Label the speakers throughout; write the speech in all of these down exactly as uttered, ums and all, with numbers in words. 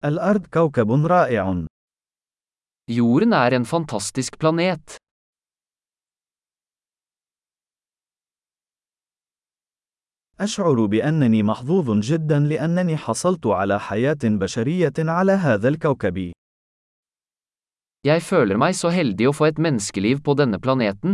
Speaker 1: الأرض كوكب رائع.
Speaker 2: Jorden er en fantastisk planet.
Speaker 1: أشعر بأنني محظوظ جدا لأنني حصلت على حياة بشرية على هذا الكوكب.
Speaker 2: Jeg føler meg så heldig å få et menneskeliv på denne planeten.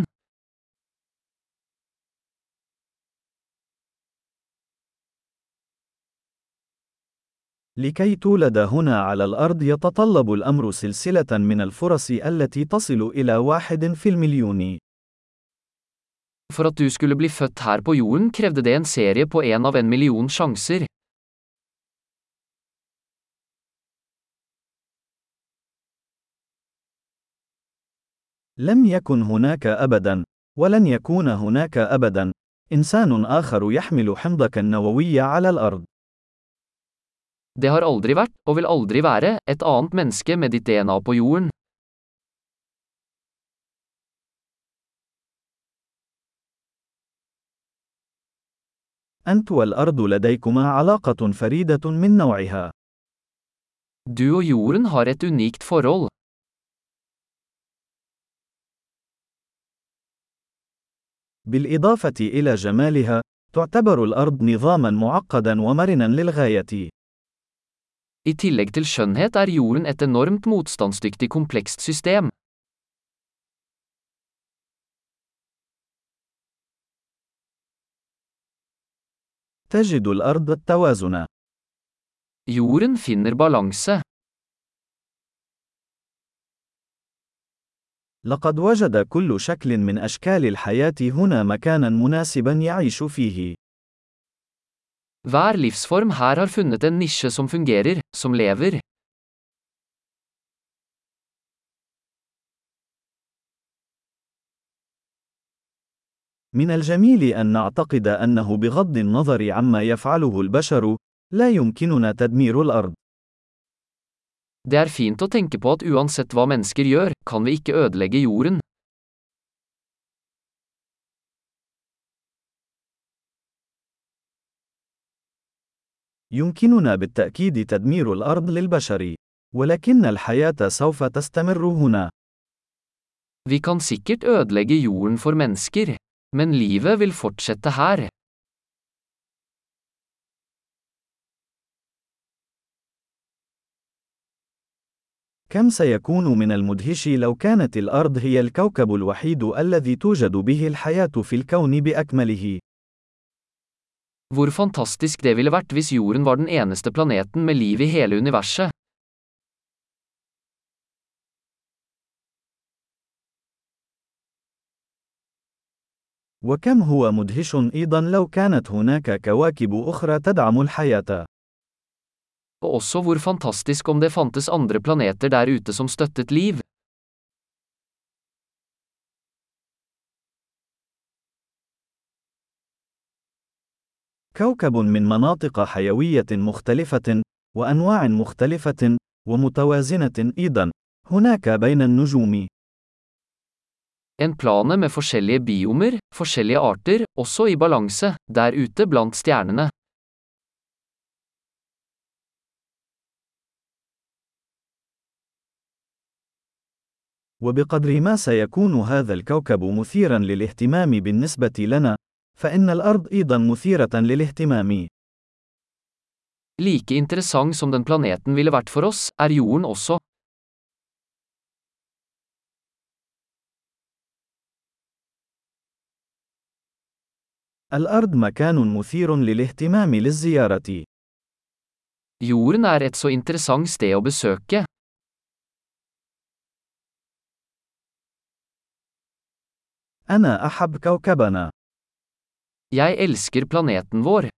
Speaker 1: لكي تولد هنا على الأرض يتطلب الأمر سلسلة من الفرص التي تصل إلى واحد في المليون.
Speaker 2: For at du skulle bli født her på jorden krevde det en serie på en av en million sjanser.
Speaker 1: لم يكن هناك أبدا، ولن يكون هناك أبدا، إنسان آخر يحمل حمضك النووي على الأرض.
Speaker 2: Det har aldri vært, og vil aldri være, et annet menneske med ditt D N A på jorden.
Speaker 1: أنت والأرض لديكما علاقة فريدة من نوعها.
Speaker 2: Du og jorden har et unikt forhold.
Speaker 1: بالإضافة إلى جمالها، تعتبر الأرض نظاماً معقداً ومرناً للغاية.
Speaker 2: I tillegg til skjønnhet er jorden et enormt motstandsdyktig komplekst system.
Speaker 1: تجد الأرض التوازن.
Speaker 2: Jorden finner balanse.
Speaker 1: لقد وجد كل شكل من أشكال الحياة هنا مكاناً مناسباً يعيش فيه.
Speaker 2: Hver livsform her har funnet en nisje som fungerer, som lever.
Speaker 1: من الجميل أن نعتقد أنه بغض النظر عما يفعله البشر، لا يمكننا تدمير الأرض.
Speaker 2: Det er fint å tenke på at uansett hva mennesker gjør, kan vi ikke ødelegge jorden.
Speaker 1: يمكننا بالتأكيد تدمير الأرض للبشر، ولكن الحياة سوف تستمر هنا.
Speaker 2: Vi kan sikkert ødelegge jorden for mennesker, men livet vil fortsette her.
Speaker 1: كم سيكون من المدهش لو كانت الأرض هي الكوكب الوحيد الذي توجد به الحياة في الكون بأكمله.
Speaker 2: Hvor fantastisk det ville vært hvis jorden var den eneste planeten med liv i hele universet.
Speaker 1: وكم هو مدهش أيضا لو كانت هناك كواكب أخرى تدعم الحياة.
Speaker 2: Og også hvor fantastisk om det fantes andre planeter der ute som støttet liv.
Speaker 1: كوكب من مناطق حيوية مختلفة، وأنواع مختلفة، ومتوازنة أيضا، هناك بين النجوم.
Speaker 2: En plane med forskjellige biomer, forskjellige arter, også i balanse, der ute blant stjernene.
Speaker 1: وبقدر ما سيكون هذا الكوكب مثيرا للاهتمام بالنسبة لنا، فإن الأرض أيضا مثيرة للاهتمام.
Speaker 2: Like interessant som den planeten ville vært for oss, er jorden også.
Speaker 1: الأرض مكان مثير للاهتمام للزيارة.
Speaker 2: Jorden er et så interessant sted å besøke.
Speaker 1: أنا أحب كوكبنا.
Speaker 2: Jeg elsker planeten vår.